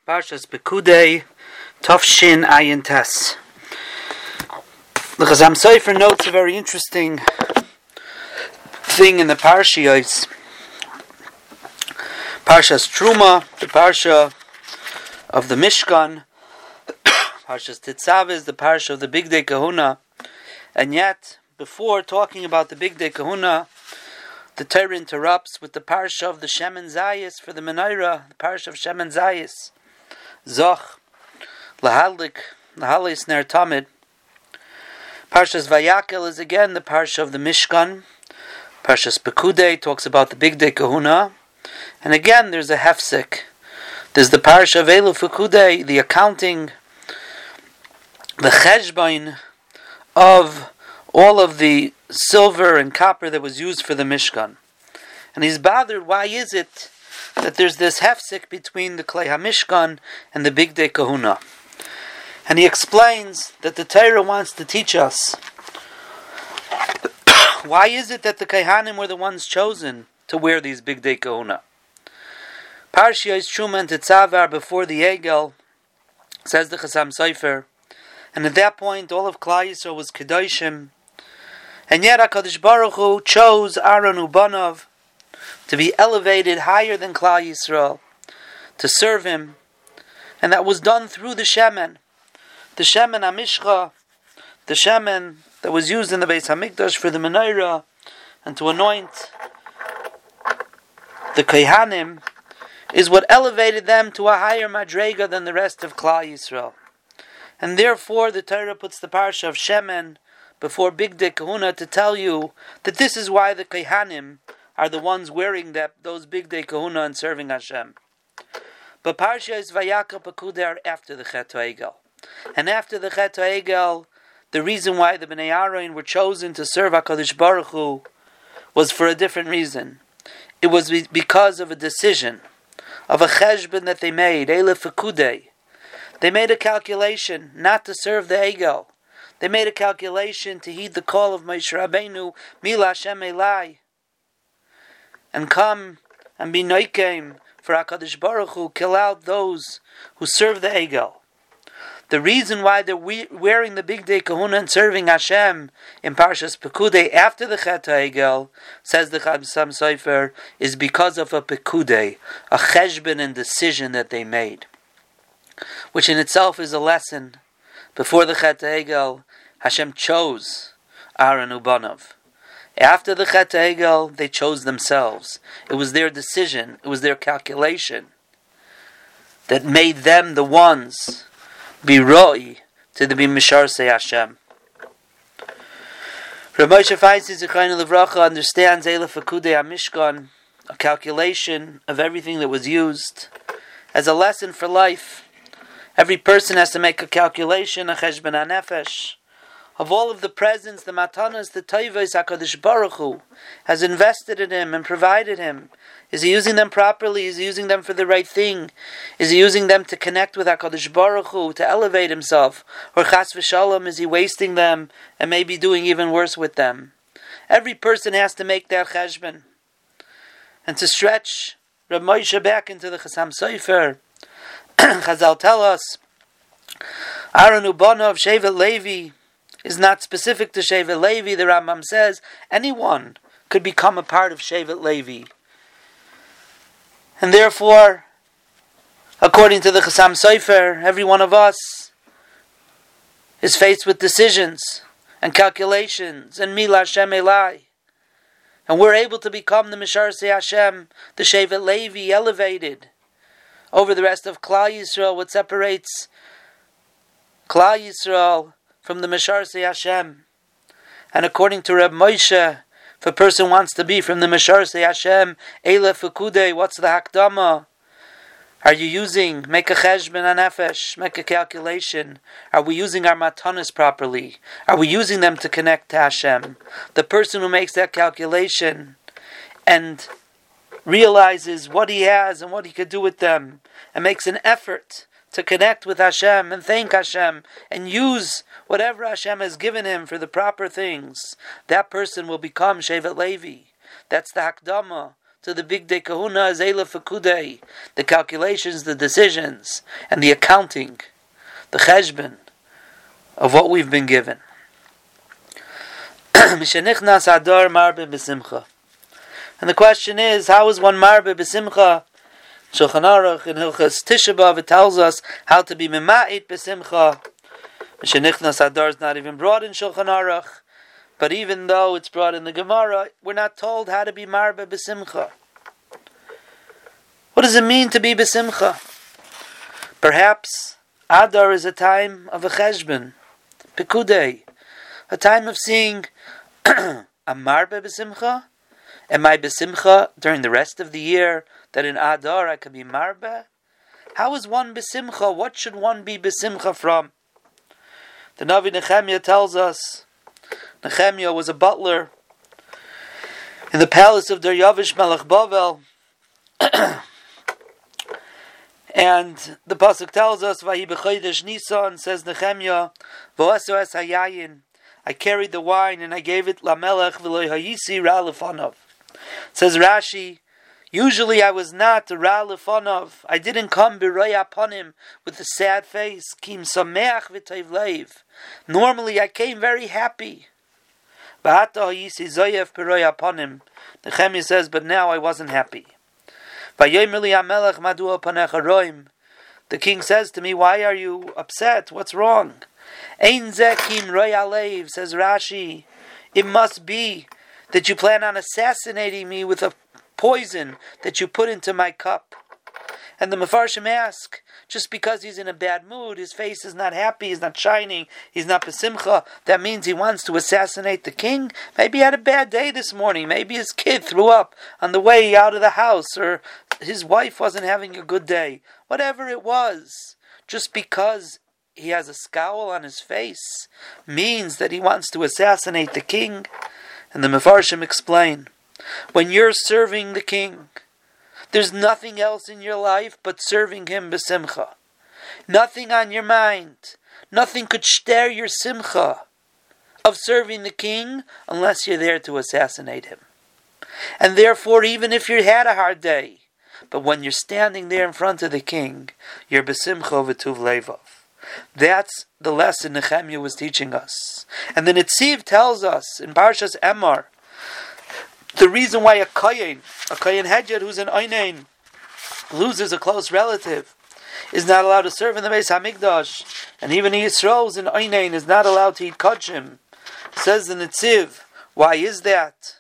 Parshas Pekudei, Tafshin Ayin Tes. The Chazam Sofer notes a very interesting thing in the Parshiyos. Parshas Truma, the Parsha of the Mishkan. Parshas Titzav is the Parsha of the Bigdei Kahuna. And yet, before talking about the Bigdei Kahuna, the Torah interrupts with the Parsha of the Shemen Zayis for the Menorah, the Parsha of Shemen Zayis. Zoch, Lahalis Ner Tamid. Parshas Vayakel is again the Parsha of the Mishkan. Parshas Pekudei talks about the Bigdei Kahuna. And again there's a hefsek. There's the Parsha of Elu Pekudei, the accounting, the cheshbon of all of the silver and copper that was used for the Mishkan. And he's bothered, why is it that there's this hefsek between the Klei HaMishkan and the Bigdei Kahuna? And he explains that the Torah wants to teach us why is it that the Kohanim were the ones chosen to wear these Bigdei Kahuna. Parshiyos Truma and Titzav before the Egel, says the Chazam Sofer, and at that point all of Klal Yisrael was Kedoshim, and yet HaKadosh Baruch Hu chose Aaron Ubanov to be elevated higher than Klal Yisrael, to serve him, and that was done through the Shemen. The Shemen HaMishcha, the Shemen that was used in the Beis HaMikdash for the Menorah, and to anoint the Kohanim, is what elevated them to a higher madrega than the rest of Klal Yisrael. And therefore the Torah puts the Parsha of Shemen before Bigdei Kahuna to tell you that this is why the Kohanim are the ones wearing those Bigdei Kahuna and serving Hashem. But Parshas Vayakel Pekudei are after the Chet HaEgel. And after the Chet HaEgel, the reason why the Bnei Aaron were chosen to serve HaKadosh Baruch Hu was for a different reason. It was because of a decision, of a cheshbon that they made, Elef Pekudei. They made a calculation not to serve the Egel. They made a calculation to heed the call of Moshe Rabbeinu, Mila Hashem Elai, and come and be noikem for HaKadosh Baruch Hu, kill out those who serve the Egel. The reason why they're wearing the Bigdei Kahuna and serving Hashem in Parshas Pekudei after the Chet HaEgel, says the Chazam Sofer, is because of a Pekudei, a cheshbon and decision that they made, which in itself is a lesson. Before the Chet HaEgel, Hashem chose Aaron Ubanov. After the Chet HaEgel, they chose themselves. It was their decision, it was their calculation that made them the ones be roi to be Misharsei Hashem. Rav Moshe Feinstein Zichrono Livracha understands Elef Pekudei HaMishkan, a calculation of everything that was used, as a lesson for life. Every person has to make a calculation, a cheshbon hanefesh, of all of the presents, the matanas, the toivos HaKadosh Baruch Hu has invested in him and provided him. Is he using them properly? Is he using them for the right thing? Is he using them to connect with HaKadosh Baruch Hu, to elevate himself? Or chas v'shalom, is he wasting them and maybe doing even worse with them? Every person has to make their cheshbon. And to stretch Rav Moshe back into the Chazam Sofer, Chazal tell us, Aaron Ubanov, Shevet Levi, is not specific to Shevet Levi. The Rambam says anyone could become a part of Shevet Levi. And therefore, according to the Chazam Sofer, every one of us is faced with decisions and calculations and Mila Hashem Elai. And we're able to become the Misharsei Hashem, the Shevet Levi, elevated over the rest of Klal Yisrael. What separates Klal Yisrael from the Misharsei Hashem? And according to Reb Moshe, if a person wants to be from the Misharsei Hashem, Elef Pekudei, what's the hakdama? Are you using, make a cheshbon hanefesh, make a calculation? Are we using our matanas properly? Are we using them to connect to Hashem? The person who makes that calculation and realizes what he has and what he could do with them, and makes an effort to connect with Hashem and thank Hashem and use whatever Hashem has given him for the proper things, that person will become Shevet Levi. That's the Hakdama to the Big Day Kahuna is Eila Fakudei, the calculations, the decisions, and the accounting, the cheshbon of what we've been given. Mishenichnas Adar Marbe B'Simcha. And the question is, how is one Marbe B'Simcha? Shulchan Aruch in Hilchas Tisha B'Av, it tells us how to be Mema'it B'Simcha. Mishenichnas Adar is not even brought in Shulchan Aruch. But even though it's brought in the Gemara, we're not told how to be Marbe B'Simcha. What does it mean to be B'Simcha? Perhaps Adar is a time of a cheshbon, Pekudei, a time of seeing, a Marbe B'Simcha? Am I B'Simcha during the rest of the year that in Adar I can be Marbe? How is one B'Simcha? What should one be B'Simcha from? The Navi Nehemiah tells us, Nehemiah was a butler in the palace of Daryavish Melech Bavel. And the pasuk tells us, Vahi b'chodesh Nisan, says Nehemiah, V'aso es hayayin, I carried the wine and I gave it lamelech v'lo hayisi ra lefanov. Says Rashi, usually I was not ra lefanov. I didn't come b'roya upon him with a sad face. Kim sameach v'tayv leiv. Normally I came very happy. Nehemiah says, but now I wasn't happy. The king says to me, why are you upset? What's wrong? Says Rashi, it must be that you plan on assassinating me with a poison that you put into my cup. And the Mefarshim ask, just because he's in a bad mood, his face is not happy, he's not shining, he's not besimcha, that means he wants to assassinate the king? Maybe he had a bad day this morning, maybe his kid threw up on the way out of the house, or his wife wasn't having a good day. Whatever it was, just because he has a scowl on his face, means that he wants to assassinate the king? And the Mefarshim explain, when you're serving the king, there's nothing else in your life but serving him b'simcha. Nothing on your mind. Nothing could stir your simcha of serving the king unless you're there to assassinate him. And therefore, even if you had a hard day, but when you're standing there in front of the king, you're b'simcha v'tuv levav. That's the lesson Nehemiah was teaching us. And the Netziv tells us in Parshas Emor, the reason why a Kohen Hedjed who's an Einain loses a close relative is not allowed to serve in the Beis HaMikdash, and even Yisrael who's an Einain is not allowed to eat Kodshim. Says the Netziv, why is that?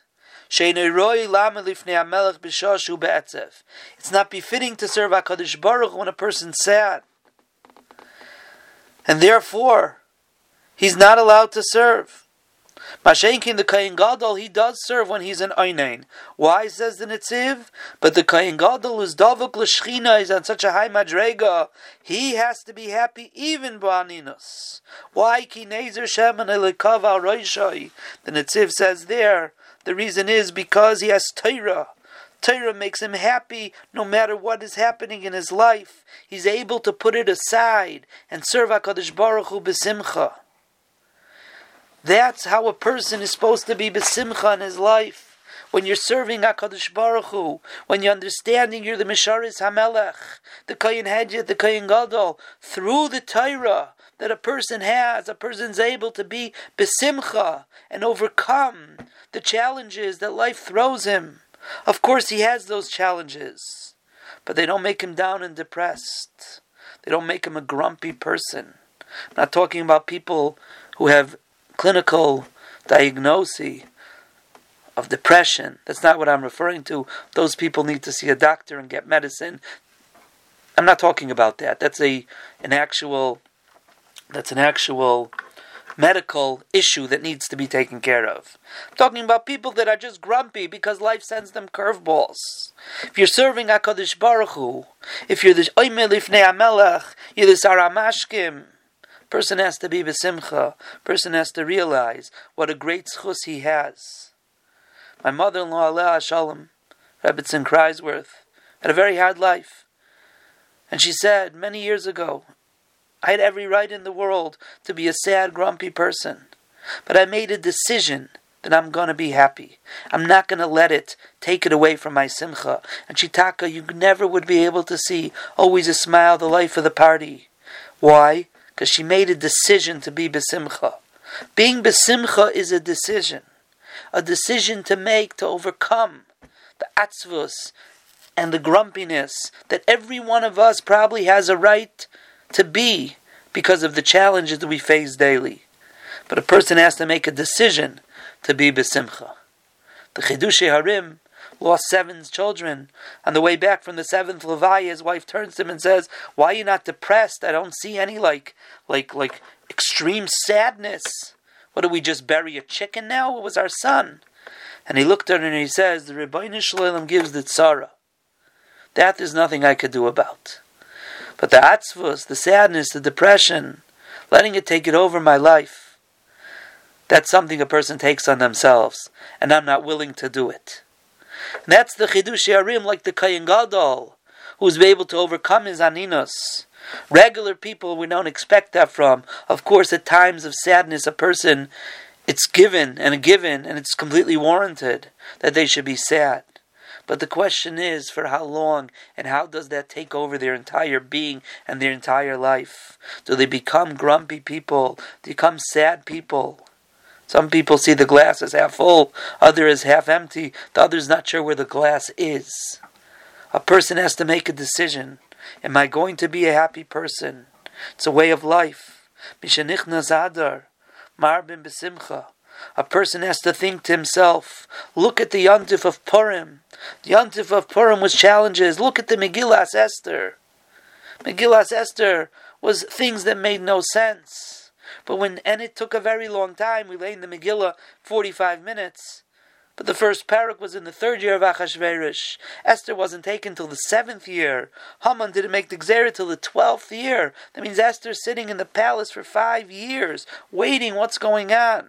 It's not befitting to serve HaKadosh Baruch when a person's sad. And therefore, he's not allowed to serve. Mashenkin, the Kohen Gadol, he does serve when he's an Einain. Why, says the Netziv? But the Kohen Gadol is Davuk L'Shchina, is on such a high madrega, he has to be happy even b'aninus. Why? Ki Nezer Shemen Elikav Al Roishai. The Netziv says there, the reason is because he has Torah. Torah makes him happy no matter what is happening in his life. He's able to put it aside and serve HaKadosh Baruch Hu b'simcha. That's how a person is supposed to be b'simcha in his life. When you're serving HaKadosh Baruch Hu, when you're understanding you're the Misharis HaMelech, the Kohen Hedjed, the Kohen Gadol, through the Torah that a person has, a person's able to be b'simcha and overcome the challenges that life throws him. Of course he has those challenges, but they don't make him down and depressed. They don't make him a grumpy person. I'm not talking about people who have clinical diagnosis of depression. That's not what I'm referring to. Those people need to see a doctor and get medicine. I'm not talking about that. That's an actual medical issue that needs to be taken care of. I'm talking about people that are just grumpy because life sends them curveballs. If you're serving HaKadosh Baruch Hu, if you're the Oimeh Lifnei HaMelech, you're the Saramashkim, person has to be b'simcha. Person has to realize what a great schus he has. My mother-in-law, Aleh Shalom, Rebbetzin Kreisworth, had a very hard life. And she said, many years ago, I had every right in the world to be a sad, grumpy person. But I made a decision then I'm going to be happy. I'm not going to let it take it away from my simcha. And Shitaka, you never would be able to see always a smile, the life of the party. Why? Because she made a decision to be besimcha. Being besimcha is a decision to make, to overcome the atzvus and the grumpiness that every one of us probably has a right to be because of the challenges that we face daily. But a person has to make a decision to be besimcha. The Chidushei Harim lost 7 children. On the way back from the 7th Levaya, his wife turns to him and says, "Why are you not depressed? I don't see any like extreme sadness. What, did we just bury a chicken now? It was our son." And he looked at her and he says, "The Rebbeinu Shalom gives the tzara. That there's nothing I could do about. But the atzvus, the sadness, the depression, letting it take it over my life, that's something a person takes on themselves, and I'm not willing to do it." And that's the Chidushei Harim, like the Kohen Gadol, who's able to overcome his aninus. Regular people, we don't expect that from. Of course, at times of sadness, a person, it's given, and it's completely warranted that they should be sad. But the question is, for how long, and how does that take over their entire being and their entire life? Do they become grumpy people? Do they become sad people? Some people see the glass as half full, others as half empty, the other's not sure where the glass is. A person has to make a decision. Am I going to be a happy person? It's a way of life. Mishenichnas Adar, Marbin Besimcha. A person has to think to himself, look at the Yontif of Purim. The Yontif of Purim was challenges. Look at the Megillas Esther. Megillas Esther was things that made no sense. And it took a very long time. We lay in the Megillah 45 minutes. But the first parak was in the 3rd year of Achashverosh. Esther wasn't taken till the 7th year. Haman didn't make the Gzera till the 12th year. That means Esther's sitting in the palace for 5 years, waiting what's going on.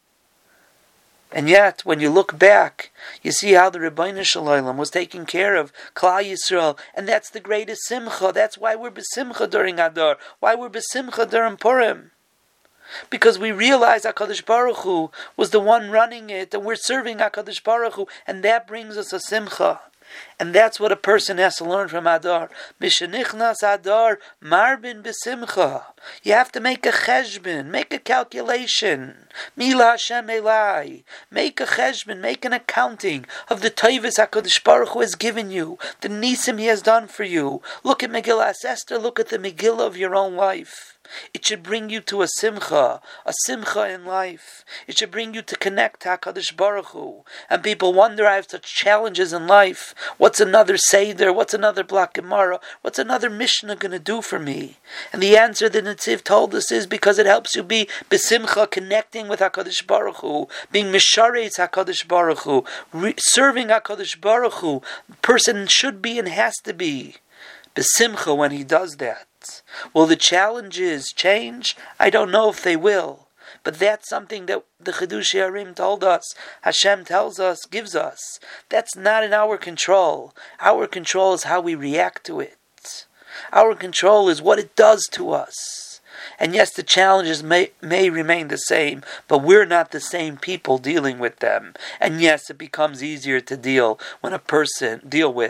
And yet, when you look back, you see how the Rebbeinu Shalom was taking care of Klal Yisrael, and that's the greatest simcha. That's why we're besimcha during Adar, why we're besimcha during Purim. Because we realize HaKadosh Baruch Hu was the one running it, and we're serving HaKadosh Baruch Hu, and that brings us a simcha. And that's what a person has to learn from Adar. Mishenichnas Adar, marbin besimcha. You have to make a cheshbon, make a calculation. Mila Hashem Elai. Make a cheshbon, make an accounting of the tayvus HaKadosh Baruch Hu has given you, the nisim He has done for you. Look at Megillah Esther, look at the Megillah of your own life. It should bring you to a simcha in life. It should bring you to connect to HaKadosh Baruch Hu. And people wonder, I have such challenges in life. What's another Seder? What's another Block Gemara? What's another Mishnah going to do for me? And the answer that Netziv told us is because it helps you be besimcha, connecting with HaKadosh Baruch Hu, being misharetz HaKadosh Baruch Hu, serving HaKadosh Baruch Hu. A person should be and has to be besimcha when he does that. Will the challenges change? I don't know if they will. But that's something that the Chidushei Harim told us, Hashem tells us, gives us. That's not in our control. Our control is how we react to it. Our control is what it does to us. And yes, the challenges may remain the same, but we're not the same people dealing with them. And yes, it becomes easier to deal with when a person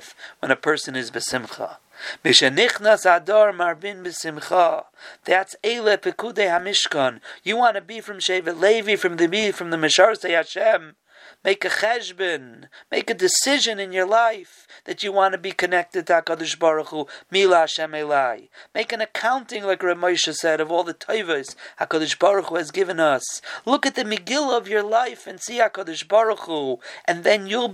is besimcha. Mishenichnas Adar marbin besimcha. That's Eile Pekudei HaMishkan. You want to be from Shevet Levi, from the Misharsei Hashem. Make a cheshbon. Make a decision in your life that you want to be connected to HaKadosh Baruch Hu. Mila Hashem Elai. Make an accounting, like Rav Moshe said, of all the tayvos HaKadosh Baruch Hu has given us. Look at the Megillah of your life and see HaKadosh Baruch Hu, and then you'll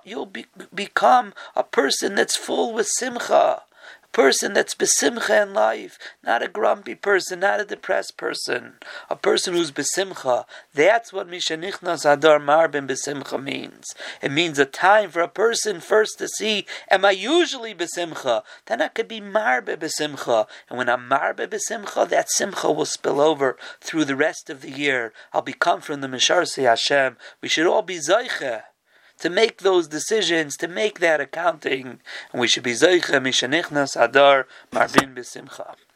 become a person that's full with simcha. Person that's besimcha in life, not a grumpy person, not a depressed person, a person who's besimcha. That's what Mishenichnas Adar Marbin besimcha means. It means a time for a person first to see, am I usually besimcha? Then I could be marbe besimcha, and when I'm marbe besimcha, that simcha will spill over through the rest of the year. I'll become from the Misharsei Hashem. We should all be zeiche to make those decisions, to make that accounting, and we should be zeicha mishenichnas Adar marbin besimcha.